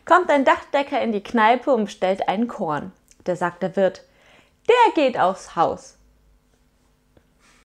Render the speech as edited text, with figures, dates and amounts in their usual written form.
Kommt ein Dachdecker in die Kneipe und bestellt einen Korn. Da sagt der Wirt: Der geht aufs Haus.